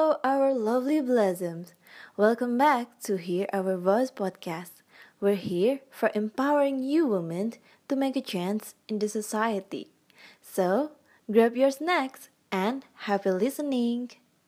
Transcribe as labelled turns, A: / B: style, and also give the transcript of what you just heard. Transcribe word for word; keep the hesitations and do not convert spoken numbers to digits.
A: Hello, our lovely blossoms. Welcome back to Hear Our Voice podcast. We're here for empowering you women to make a chance in the society. So, grab your snacks and happy listening.